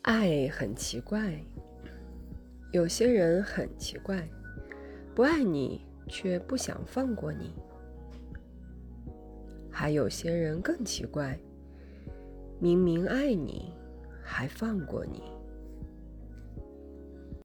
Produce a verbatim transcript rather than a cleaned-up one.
爱很奇怪，有些人很奇怪，不爱你却不想放过你；还有些人更奇怪，明明爱你还放过你。